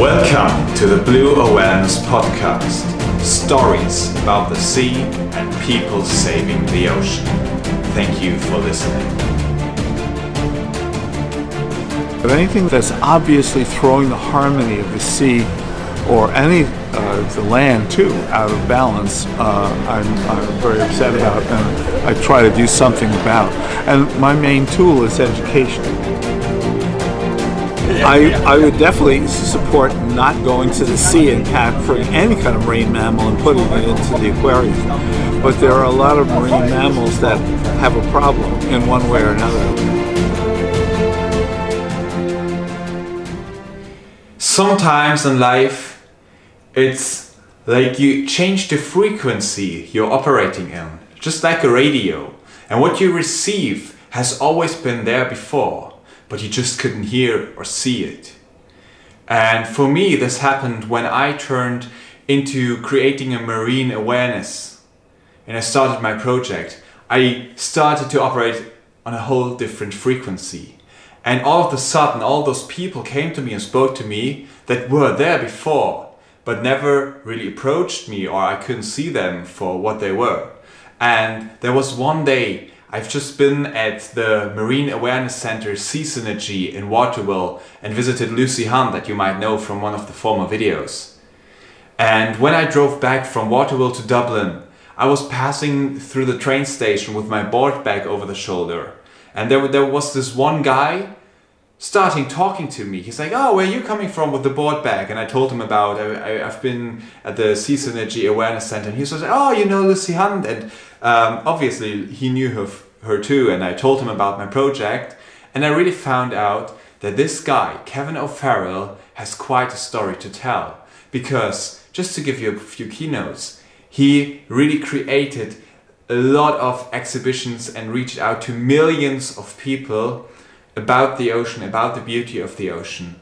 Welcome to the Blue Awareness Podcast. Stories about the sea and people saving the ocean. Thank you for listening. But anything that's obviously throwing the harmony of the sea or any the land too out of balance, I'm very upset about, and I try to do something about. And my main tool is education. I would definitely support not going to the sea and capturing any kind of marine mammal and putting it into the aquarium. But there are a lot of marine mammals that have a problem in one way or another. Sometimes in life, it's like you change the frequency you're operating in, just like a radio. And what you receive has always been there before, but you just couldn't hear or see it. And for me, this happened when I turned into creating a marine awareness and I started my project. I started to operate on a whole different frequency. And all of a sudden, all those people came to me and spoke to me that were there before, but never really approached me, or I couldn't see them for what they were. And there was one day, I've just been at the Marine Awareness Center Sea Synergy in Waterville and visited Lucy Hunt, that you might know from one of the former videos. And when I drove back from Waterville to Dublin, I was passing through the train station with my board bag over the shoulder. And there was this one guy starting talking to me. He's like, "Oh, where are you coming from with the board bag?" And I told him about, I've been at the Sea Synergy Awareness Center. And he was like, "Oh, you know Lucy Hunt?" And obviously he knew her too. And I told him about my project. And I really found out that this guy, Kevin O'Farrell, has quite a story to tell. Because, just to give you a few keynotes, he really created a lot of exhibitions and reached out to millions of people about the ocean, about the beauty of the ocean.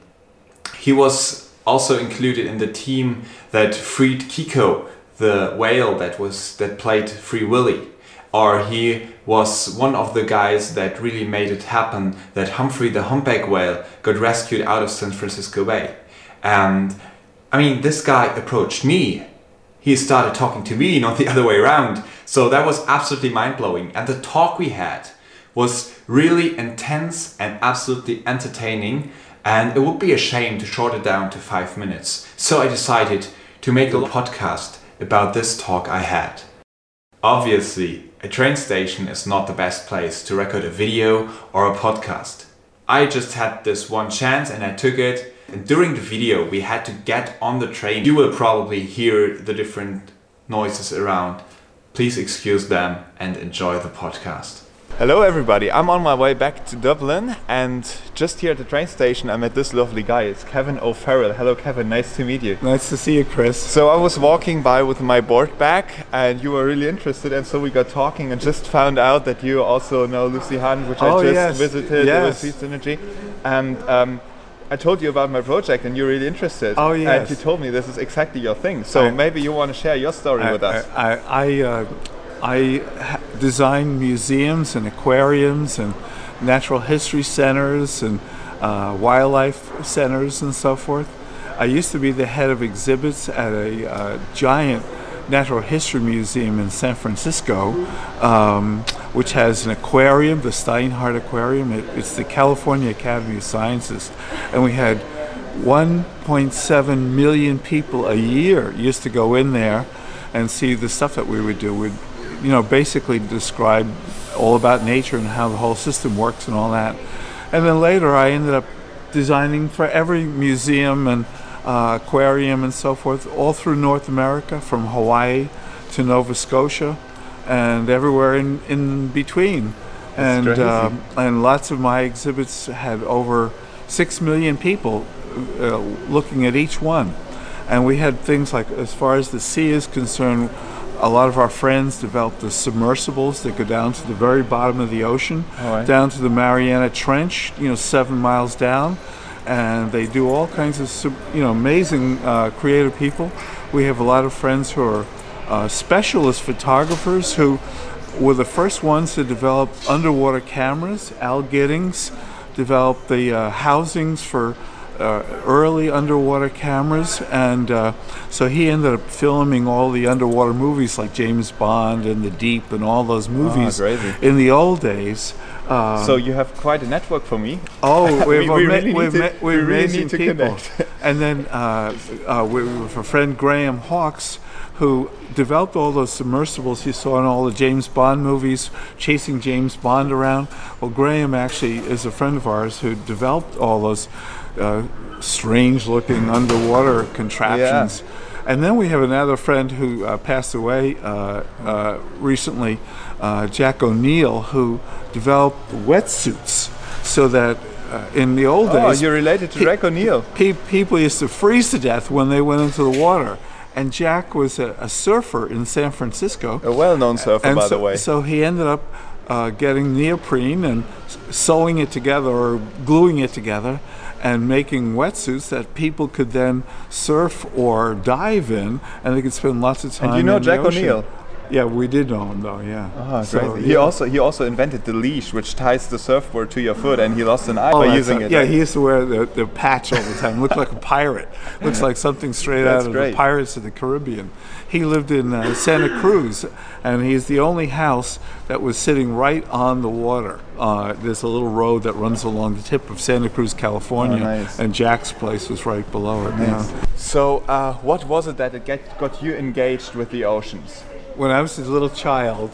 He was also included in the team that freed Kiko, the whale that played Free Willy. Or he was one of the guys that really made it happen that Humphrey the humpback whale got rescued out of San Francisco Bay. And I mean, this guy approached me. He started talking to me, not the other way around. So that was absolutely mind-blowing. And the talk we had was really intense and absolutely entertaining. And it would be a shame to short it down to 5 minutes. So I decided to make a podcast about this talk I had. Obviously, a train station is not the best place to record a video or a podcast. I just had this one chance and I took it. And during the video, we had to get on the train. You will probably hear the different noises around. Please excuse them and enjoy the podcast. Hello everybody, I'm on my way back to Dublin, and just here at the train station I met this lovely guy. It's Kevin O'Farrell. Hello Kevin, nice to meet you. Nice to see you, Chris. So I was walking by with my board bag and you were really interested, and so we got talking and just found out that you also know Lucy Hunt, which I just visited with Sea Synergy. And I told you about my project and you're really interested. Oh yes. And you told me this is exactly your thing. So maybe you want to share your story with us. I design museums and aquariums and natural history centers and wildlife centers and so forth. I used to be the head of exhibits at a giant natural history museum in San Francisco, which has an aquarium, the Steinhardt Aquarium. It's the California Academy of Sciences. And we had 1.7 million people a year used to go in there and see the stuff that we would do. We'd, basically describe all about nature and how the whole system works and all that. And then later I ended up designing for every museum and aquarium and so forth, all through North America, from Hawaii to Nova Scotia and everywhere in between. And lots of my exhibits had over 6 million people looking at each one. And we had things like, as far as the sea is concerned, a lot of our friends developed the submersibles that go down to the very bottom of the ocean, down to the Mariana Trench, 7 miles down. And they do all kinds of, amazing creative people. We have a lot of friends who are specialist photographers who were the first ones to develop underwater cameras. Al Giddings developed the housings for early underwater cameras, and so he ended up filming all the underwater movies like James Bond and The Deep and all those movies in the old days. So you have quite a network for me. Oh, we really need to people. connect. And then with a friend, Graham Hawkes, who developed all those submersibles you saw in all the James Bond movies, chasing James Bond around. Well, Graham actually is a friend of ours who developed all those strange-looking underwater contraptions. Yeah. And then we have another friend who passed away recently, Jack O'Neill, who developed wetsuits so that in the old days... Oh, you're related to Jack O'Neill. People used to freeze to death when they went into the water. And Jack was a surfer in San Francisco. A well-known surfer, by the way. So he ended up getting neoprene and sewing it together or gluing it together and making wetsuits that people could then surf or dive in, and they could spend lots of time. And you know in Jack the ocean. O'Neill? Yeah, we did know him though. Yeah. Oh, so, crazy. He also invented the leash, which ties the surfboard to your foot, and he lost an eye by using it. Yeah, he used to wear the patch all the time. Looked like a pirate. Looks like something straight out of the Pirates of the Caribbean. He lived in Santa Cruz, and he's the only house that was sitting right on the water. There's a little road that runs along the tip of Santa Cruz, California, and Jack's place was right below it. Nice. Yeah. So, what was it that got you engaged with the oceans? When I was a little child,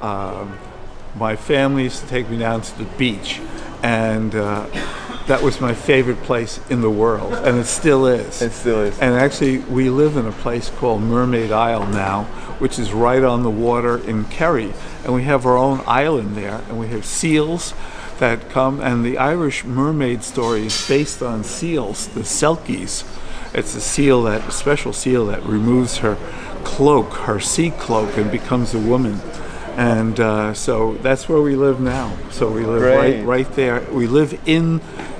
my family used to take me down to the beach, and that was my favorite place in the world, and it still is. It still is. And actually, we live in a place called Mermaid Isle now, which is right on the water in Kerry, and we have our own island there, and we have seals that come, and the Irish mermaid story is based on seals, the selkies. It's a special seal that removes her cloak, her sea cloak, and becomes a woman. And so that's where we live now. So we live right there. We live in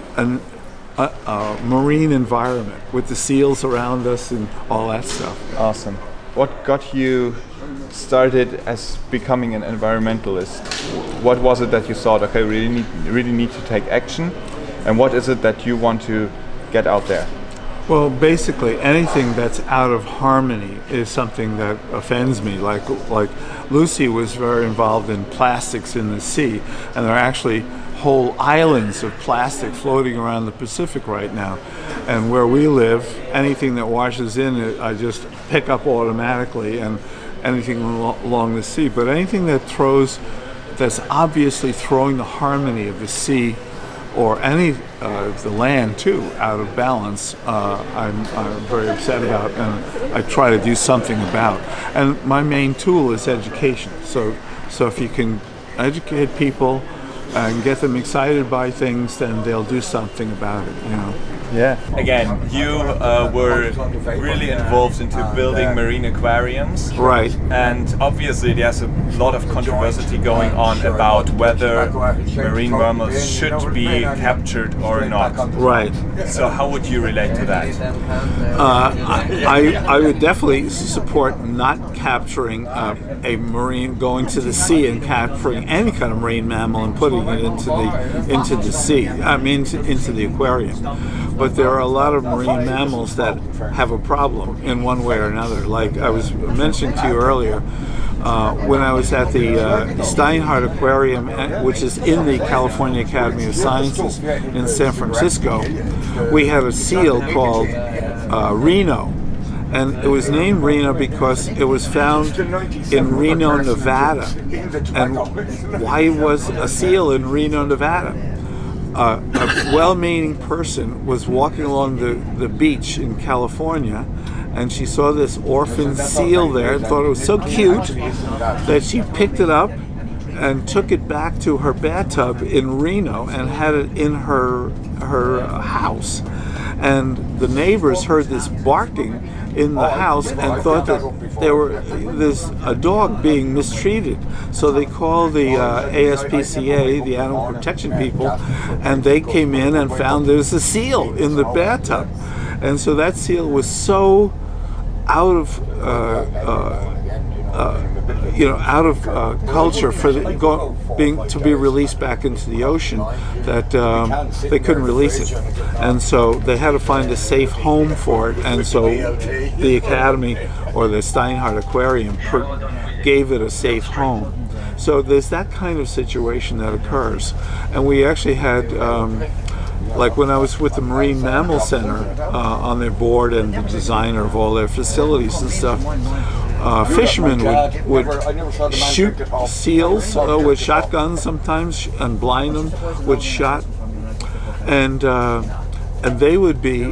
a marine environment with the seals around us and all that stuff. Awesome. What got you started as becoming an environmentalist? What was it that you thought, okay, we really need to take action? And what is it that you want to get out there? Well, basically anything that's out of harmony is something that offends me. Like Lucy was very involved in plastics in the sea, and there are actually whole islands of plastic floating around the Pacific right now. And where we live, anything that washes in, I just pick up automatically, and anything along the sea. But anything that's obviously throwing the harmony of the sea or any the land too out of balance, I'm very upset about, and I try to do something about. And my main tool is education. So if you can educate people and get them excited by things, then they'll do something about it. Yeah. Again, you were really involved into building marine aquariums. Right. And obviously there's a lot of controversy going on about whether marine mammals should be captured or not. Right. So how would you relate to that? I would definitely support not capturing a marine, going to the sea and capturing any kind of marine mammal and putting it into the sea. I mean, into the aquarium. But there are a lot of marine mammals that have a problem in one way or another. Like I was mentioning to you earlier, when I was at the Steinhardt Aquarium, which is in the California Academy of Sciences in San Francisco, we had a seal called Reno. And it was named Reno because it was found in Reno, Nevada. And why was a seal in Reno, Nevada? A well-meaning person was walking along the beach in California, and she saw this orphan seal there and thought it was so cute that she picked it up and took it back to her bathtub in Reno and had it in her house. And the neighbors heard this barking in the house and thought that there's a dog being mistreated. So they called the ASPCA, the animal protection people, and they came in and found there's a seal in the bathtub. And so that seal was so out of out of culture for to be released back into the ocean, that they couldn't release it, and so they had to find a safe home for it. And so the Academy, or the Steinhardt Aquarium, gave it a safe home. So there's that kind of situation that occurs, and we actually had. Like when I was with the Marine Mammal Center on their board and the designer of all their facilities and stuff, fishermen would shoot seals with shotguns sometimes and blind them with shot, and they would be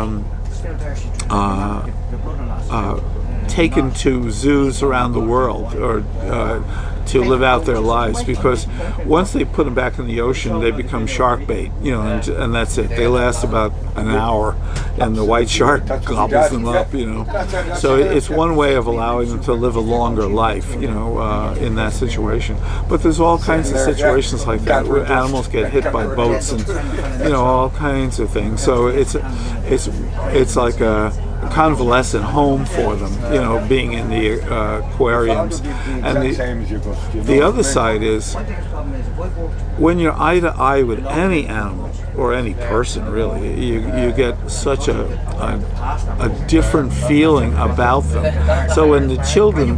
taken to zoos around the world, or to live out their lives, because once they put them back in the ocean, they become shark bait, and that's it. They last about an hour, and the white shark gobbles them up, So it's one way of allowing them to live a longer life, in that situation. But there's all kinds of situations like that where animals get hit by boats and, all kinds of things. So it's like a convalescent home for them, being in the aquariums. And the other side is, when you're eye to eye with any animal or any person, really, you get such a different feeling about them. So when the children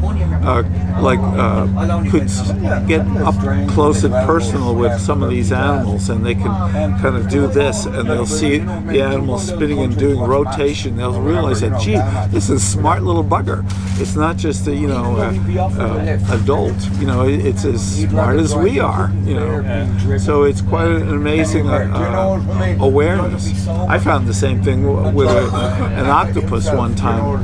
could get up close and personal with some of these animals, and they can kind of do this, and they'll see the animal spinning and doing rotation, they'll realize that, gee, this is a smart little bugger. It's not just a adult, it's as smart as we are, So it's quite an amazing awareness. I found the same thing with an octopus one time.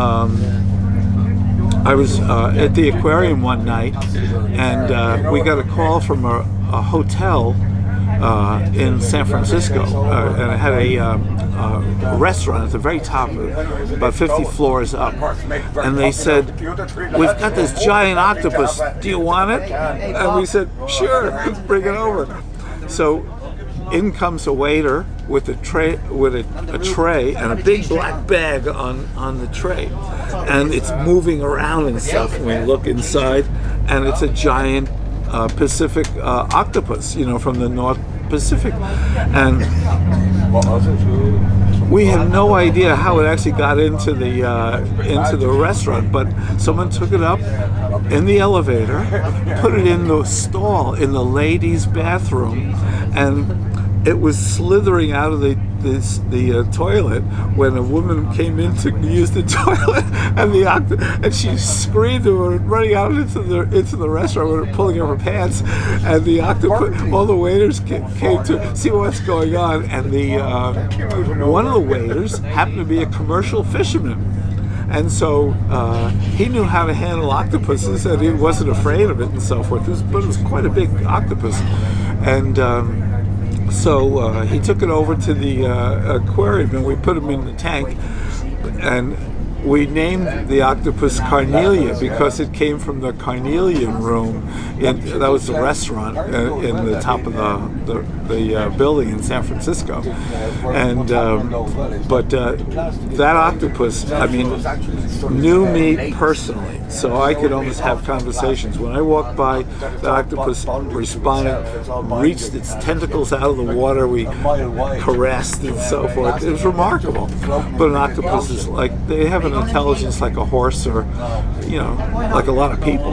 I was at the aquarium one night, and we got a call from a hotel in San Francisco, and it had a restaurant at the very top, about 50 floors up, and they said, "We've got this giant octopus, do you want it?" And we said, "Sure, bring it over." So in comes a waiter with a tray and a big black bag on the tray, and it's moving around and stuff. And we look inside, and it's a giant Pacific octopus, from the North Pacific, and we had no idea how it actually got into the restaurant. But someone took it up in the elevator, put it in the stall in the ladies' bathroom, and it was slithering out of the toilet when a woman came in to use the toilet, and she screamed and went running out into the restaurant with her pulling up her pants, and the octopus, all the waiters came to see what's going on, and one of the waiters happened to be a commercial fisherman. And so he knew how to handle octopuses, and he wasn't afraid of it and so forth. But it was quite a big octopus, and so he took it over to the aquarium, and we put him in the tank, and we named the octopus Carnelia because it came from the Carnelian Room. That was the restaurant in the top of the building in San Francisco. And but that octopus, knew me personally, so I could almost have conversations. When I walked by, the octopus responded, reached its tentacles out of the water. We caressed and so forth. It was remarkable. But an octopus is they have an intelligence like a horse, or like a lot of people.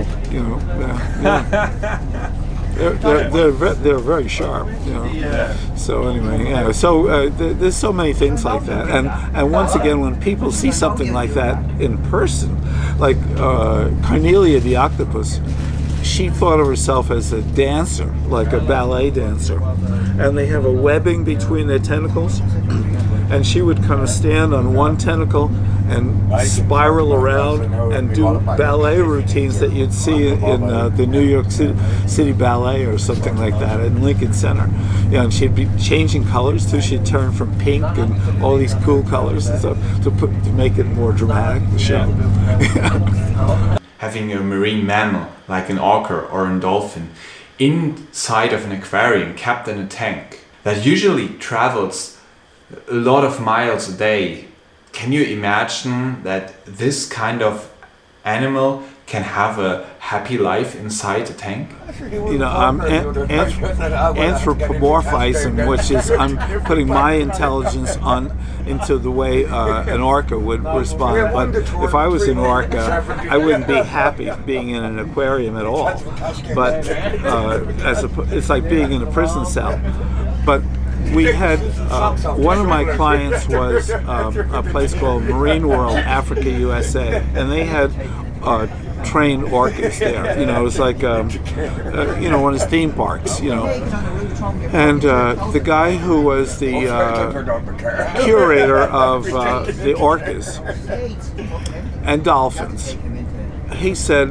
They're very sharp. So anyway, so there's so many things like that, and once again, when people see something like that in person, like Carnelia the octopus, she thought of herself as a dancer, like a ballet dancer, and they have a webbing between their tentacles, and she would kind of stand on one tentacle and spiral around and do ballet routines that you'd see in the New York City Ballet or something like that in Lincoln Center. And she'd be changing colors too. She'd turn from pink and all these cool colors and stuff to make it more dramatic, the show. Having a marine mammal like an orca or a dolphin inside of an aquarium, kept in a tank, that usually travels a lot of miles a day. Can you imagine that this kind of animal can have a happy life inside a tank? You know, I'm anthropomorphizing, which is I'm putting my intelligence into the way an orca would respond. But if I was an orca, I wouldn't be happy being in an aquarium at all. But it's like being in a prison cell. But we had one of my clients was a place called Marine World Africa USA, and they had trained orcas there. You know, it was like you know, one of his theme parks. You know, and the guy who was the curator of the orcas and dolphins, he said,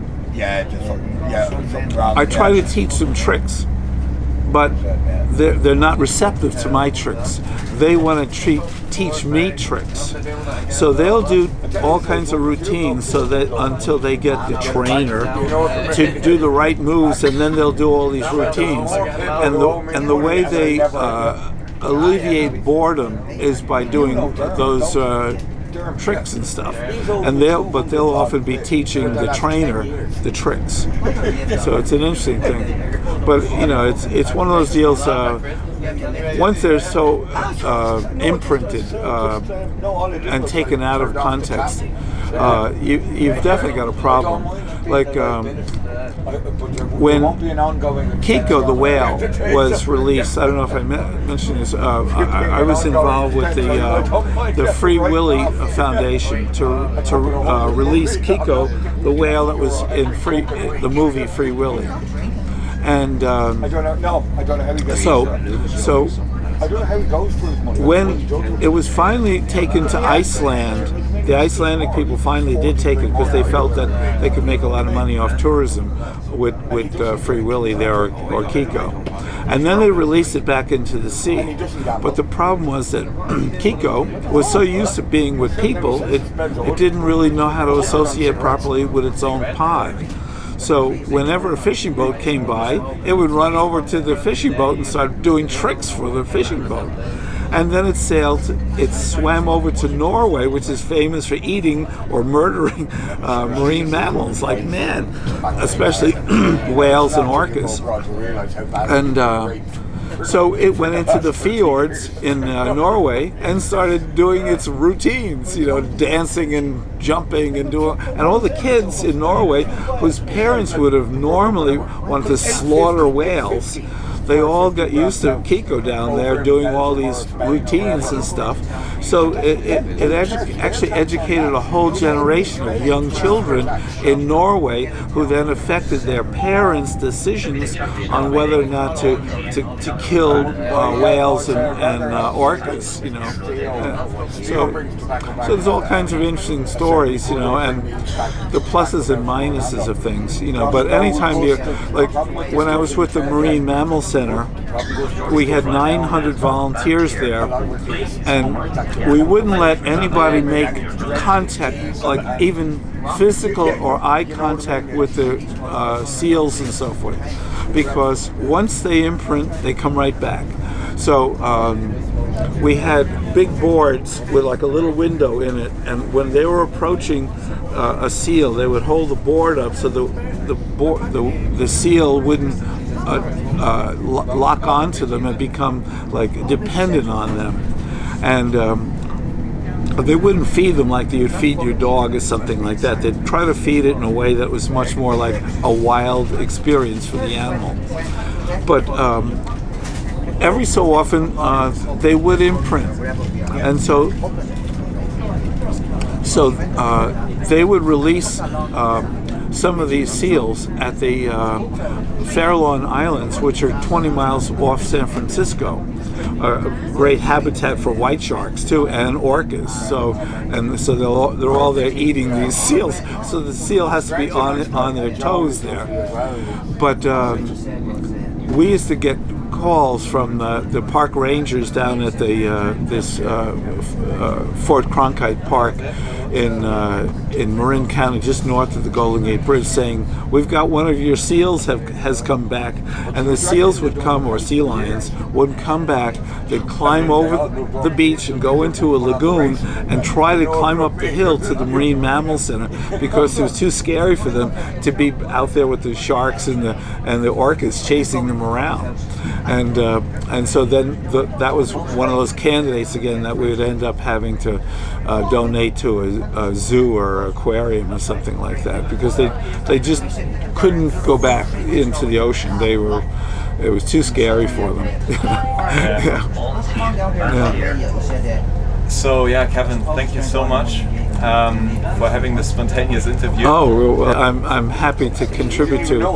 I try to teach them tricks, but they're not receptive to my tricks. They want to teach me tricks. So they'll do all kinds of routines so that until they get the trainer to do the right moves, and then they'll do all these routines. And the way they alleviate boredom is by doing those tricks and stuff, and they'll often be teaching the trainer the tricks. So it's an interesting thing. But you know, it's one of those deals. Once they're so imprinted and taken out of context, you've definitely got a problem. Like when Kiko the whale was released, I don't know if I mentioned this. I was involved with the Free Willy Foundation to release Kiko the whale that was in the movie Free Willy. And so when it was finally taken to Iceland, the Icelandic people finally did take it because they felt that they could make a lot of money off tourism with Free Willy there or Kiko. And then they released it back into the sea. But the problem was that Kiko was so used to being with people, it didn't really know how to associate properly with its own pod. So whenever a fishing boat came by, it would run over to the fishing boat and start doing tricks for the fishing boat. And then it swam over to Norway, which is famous for eating or murdering marine mammals like man, especially whales and orcas. And so it went into the fjords in Norway and started doing its routines, you know, dancing and jumping and all the kids in Norway whose parents would have normally wanted to slaughter whales, they all got used to Kiko down there doing all these routines and stuff. So it actually educated a whole generation of young children in Norway who then affected their parents' decisions on whether or not to kill whales and orcas, you know. So there's all kinds of interesting stories, you know, and the pluses and minuses of things, you know. But anytime like when I was with the Marine Mammal Center, we had 900 volunteers there, and we wouldn't let anybody make contact, like even physical or eye contact with the seals and so forth, because once they imprint, they come right back. So we had big boards with like a little window in it, and when they were approaching a seal, they would hold the board up so the seal wouldn't lock onto them and become like dependent on them. And they wouldn't feed them like you would feed your dog or something like that. They'd try to feed it in a way that was much more like a wild experience for the animal. But every so often they would imprint, and so they would release some of these seals at the Farallon Islands, which are 20 miles off San Francisco. A great habitat for white sharks too, and orcas. So they're all there eating these seals. So the seal has to be on their toes there. But we used to get calls from the park rangers down at this Fort Cronkite Park, in Marin County, just north of the Golden Gate Bridge, saying, "We've got one of your seals has come back," and the seals would come, or sea lions would come back. They'd climb over the beach and go into a lagoon and try to climb up the hill to the Marine Mammal Center because it was too scary for them to be out there with the sharks and the orcas chasing them around. And so then that was one of those candidates again that we would end up having to donate to a zoo or aquarium or something like that, because they just couldn't go back into the ocean. It was too scary for them. Yeah. So yeah, Kevin, thank you so much for having this spontaneous interview. Oh, well, I'm happy to contribute to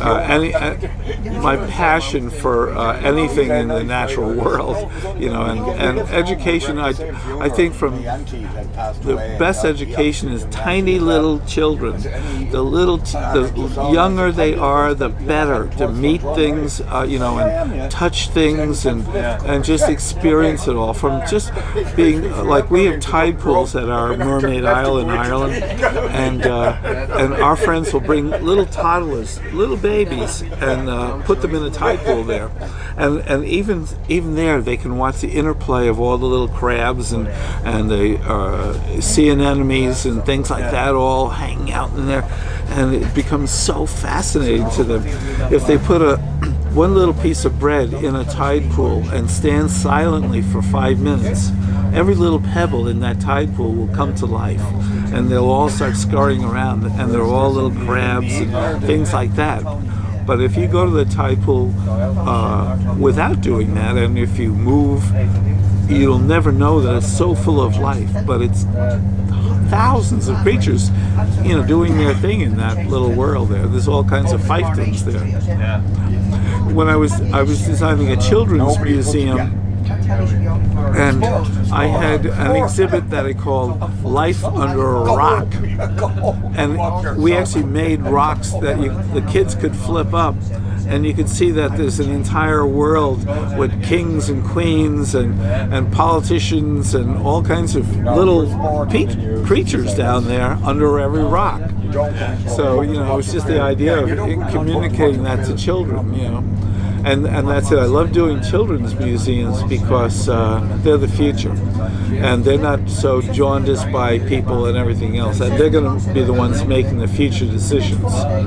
my passion for anything in the natural world, and education. I think from the best education is tiny little children. The younger they are, the better to meet things, and touch things and just experience it all. From just being like, we have tide pools at our Mermaid Isle in Ireland, and our friends will bring little toddlers, little babies, and put them in a tide pool there, and even there they can watch the interplay of all the little crabs and the sea anemones and things like that all hanging out in there, and it becomes so fascinating to them. If they put one little piece of bread in a tide pool and stand silently for 5 minutes, every little pebble in that tide pool will come to life, and they'll all start scurrying around, and they're all little crabs and things like that. But if you go to the tide pool without doing that, and if you move, you'll never know that it's so full of life. But it's thousands of creatures, doing their thing in that little world there. There's all kinds of fiefdoms there. Yeah. When I was designing a children's museum, and I had an exhibit that I called Life Under a Rock, and we actually made rocks that the kids could flip up, and you could see that there's an entire world with kings and queens and politicians and all kinds of little creatures down there under every rock. So it was just the idea of communicating that to children, And that's it. I love doing children's museums because they're the future, and they're not so jaundiced by people and everything else, and they're going to be the ones making the future decisions.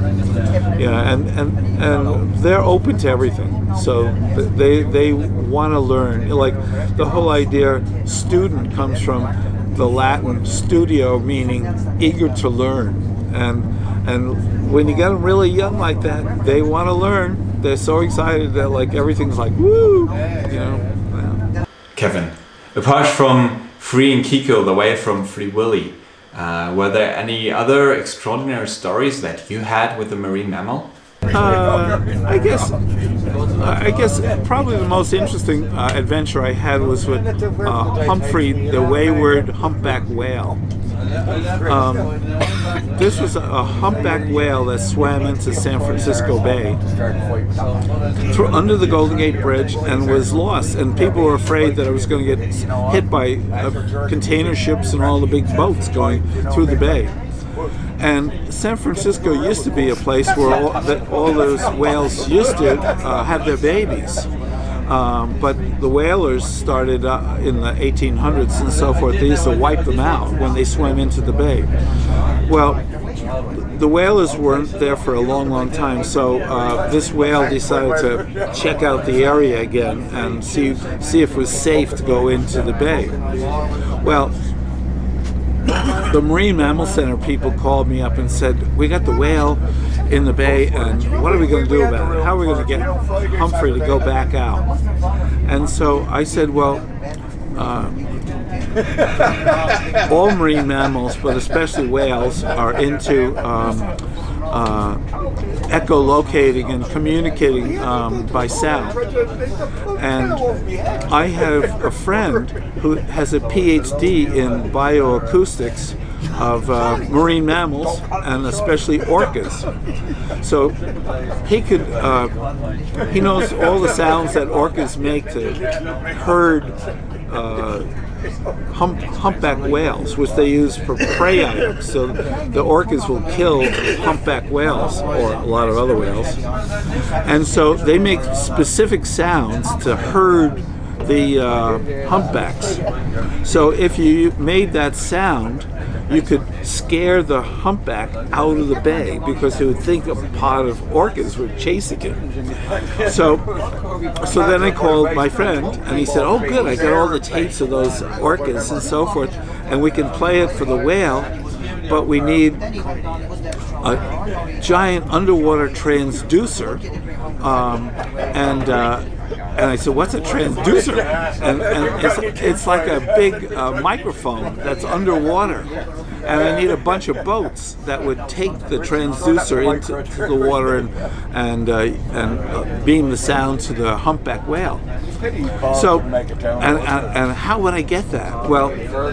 And they're open to everything, so they want to learn. Like, the whole idea, student, comes from the Latin studio, meaning eager to learn, and when you get them really young like that, they want to learn. They're so excited that everything's like, woo, Yeah. Kevin, apart from freeing Kiko the way from Free Willy, were there any other extraordinary stories that you had with the marine mammal? I guess probably the most interesting adventure I had was with Humphrey, the wayward humpback whale. This was a humpback whale that swam into San Francisco Bay under the Golden Gate Bridge and was lost, and people were afraid that it was going to get hit by container ships and all the big boats going through the bay. And San Francisco used to be a place where all those whales used to have their babies. But the whalers started in the 1800s and so forth. They used to wipe them out when they swam into the bay. Well, the whalers weren't there for a long, long time, so this whale decided to check out the area again and see if it was safe to go into the bay. Well, the Marine Mammal Center people called me up and said, "We got the whale in the bay, and what are we going to do about it? How are we going to get Humphrey to go back out?" And so I said, well, all marine mammals, but especially whales, are into echolocating and communicating by sound. And I have a friend who has a PhD in bioacoustics of marine mammals, and especially orcas. So he knows all the sounds that orcas make to herd humpback whales, which they use for prey items. So the orcas will kill humpback whales or a lot of other whales, and so they make specific sounds to herd the humpbacks. So if you made that sound, you could scare the humpback out of the bay because he would think a pod of orcas were chasing him. So then I called my friend and he said, "Oh, good, I got all the tapes of those orcas and so forth, and we can play it for the whale, but we need a giant underwater transducer." And I said, "What's a transducer?" And it's like a big microphone that's underwater. And I need a bunch of boats that would take the transducer into the water and beam the sound to the humpback whale. So, and how would I get that? Well,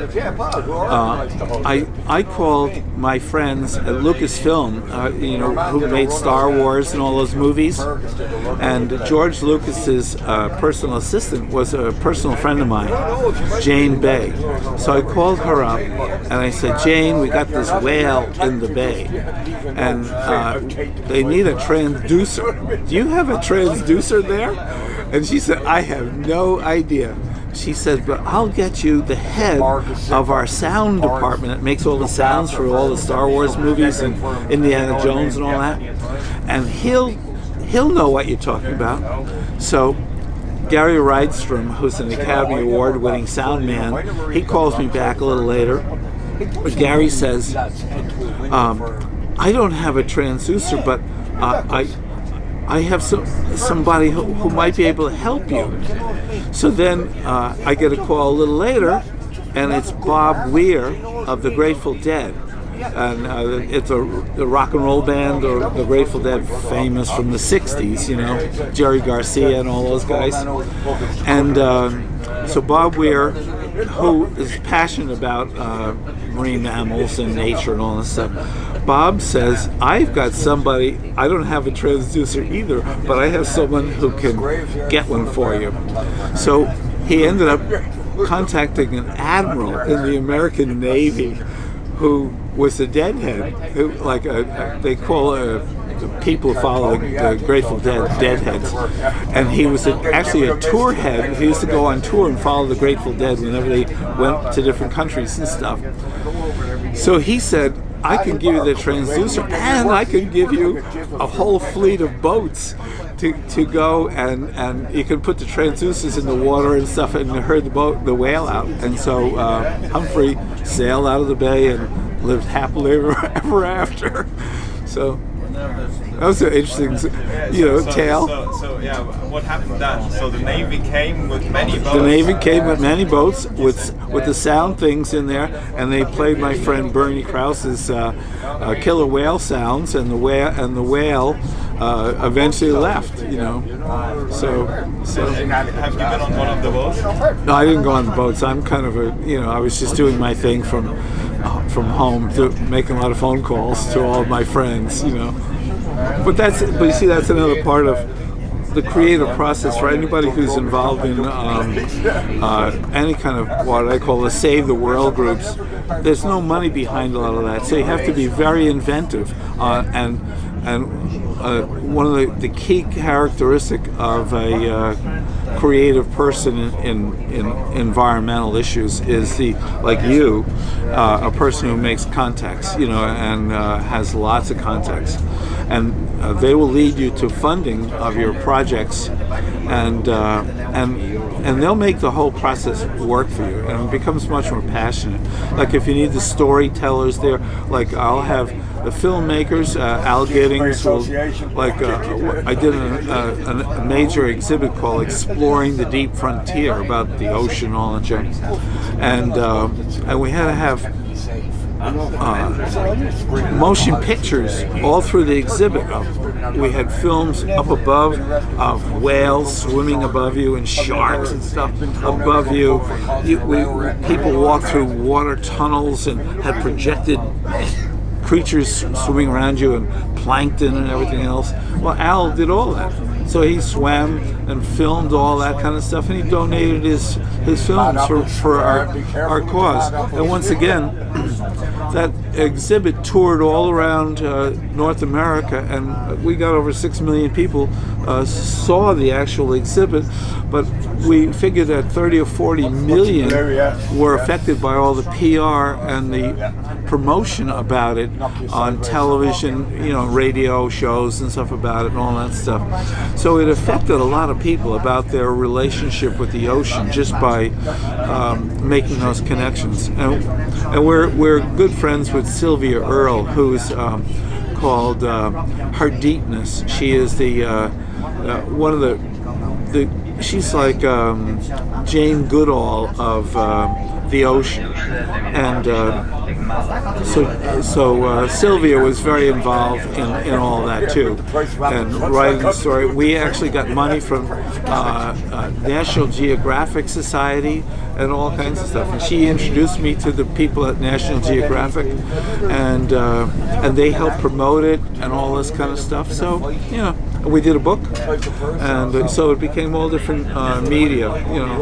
I called my friends at Lucasfilm, who made Star Wars and all those movies, and George Lucas's personal assistant was a personal friend of mine, Jane Bay. So I called her up and I said, "Jane, we got this whale in the bay, and they need a transducer. Do you have a transducer there?" And she said, "I have no idea." She said, "But I'll get you the head of our sound department that makes all the sounds for all the Star Wars movies and Indiana Jones and all that, and he'll know what you're talking about." So Gary Rydstrom, who's an Academy Award-winning sound man, he calls me back a little later. Gary says, "I don't have a transducer, but I have somebody who might be able to help you." So then I get a call a little later, and it's Bob Weir of the Grateful Dead. And it's a rock and roll band, or the Grateful Dead, famous from the 60s, Jerry Garcia and all those guys. And so Bob Weir, who is passionate about marine mammals and nature and all this stuff, Bob says, "I've got somebody, I don't have a transducer either, but I have someone who can get one for you." So he ended up contacting an admiral in the American Navy who was a deadhead, who, they call people who follow the Grateful Dead deadheads, and he was actually a tour head. He used to go on tour and follow the Grateful Dead whenever they went to different countries and stuff. So he said, "I can give you the transducer, and I can give you a whole fleet of boats to go and you can put the transducers in the water and stuff and herd the whale out." And so Humphrey sailed out of the bay and lived happily ever after. So that was an interesting, tale. So what happened then? So the Navy came with many boats. The Navy came with many boats with the sound things in there, and they played my friend Bernie Krause's killer whale sounds, and the whale eventually left. So have you been on one of the boats? No, I didn't go on the boats. I'm kind of I was just doing my thing from home, making a lot of phone calls to all of my friends. But you see, that's another part of the creative process for anybody who's involved in any kind of what I call the Save the World groups. There's no money behind a lot of that, so you have to be very inventive. And one of the key characteristic of a creative person in environmental issues is a person who makes contacts, and has lots of contacts, and they will lead you to funding of your projects, and they'll make the whole process work for you, and it becomes much more passionate. Like if you need the storytellers there, like I'll have the filmmakers, Al Giddings will, I did a major exhibit called Exploring the Deep Frontier about the ocean and all that junk. And we had to have motion pictures all through the exhibit. We had films up above of whales swimming above you and sharks and stuff above you. People walked through water tunnels and had projected creatures swimming around you and plankton and everything else. Well, Al did all that. So he swam and filmed all that kind of stuff, and he donated his films for our cause. And once again, that exhibit toured all around North America, and we got over 6 million people saw the actual exhibit, but we figured that 30 or 40 million were affected by all the PR and the promotion about it on television, radio shows and stuff about it and all that stuff. So it affected a lot of people about their relationship with the ocean just by making those connections. And we're good friends with Sylvia Earle, who's called Her Deepness. She is the one of the she's like Jane Goodall of the ocean, and so Sylvia was very involved in all that too, and writing the story. We actually got money from National Geographic Society and all kinds of stuff, and she introduced me to the people at National Geographic, and they helped promote it and all this kind of stuff. So we did a book, and so it became all different media,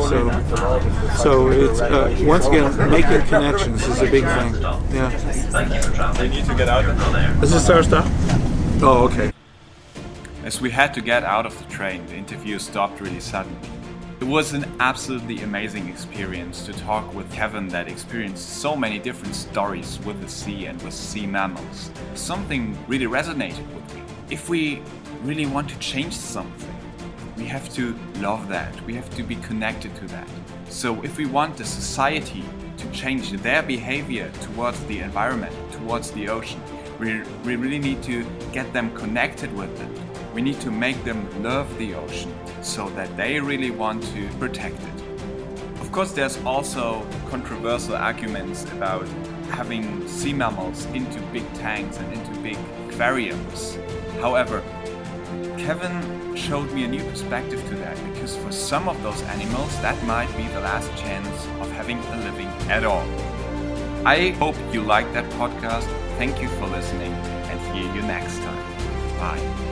so it's once again, making connections is a big thing. Yeah. We need to get out. Is this our stuff? Oh, okay. As we had to get out of the train, the interview stopped really suddenly. It was an absolutely amazing experience to talk with Kevin that experienced so many different stories with the sea and with sea mammals. Something really resonated with me. If we really want to change something, we have to love that. We have to be connected to that. So if we want the society to change their behavior towards the environment, towards the ocean, we really need to get them connected with it. We need to make them love the ocean so that they really want to protect it. Of course, there's also controversial arguments about having sea mammals into big tanks and into big aquariums. However, Kevin showed me a new perspective to that, because for some of those animals that might be the last chance of having a living at all. I hope you liked that podcast. Thank you for listening, and hear you next time. Bye.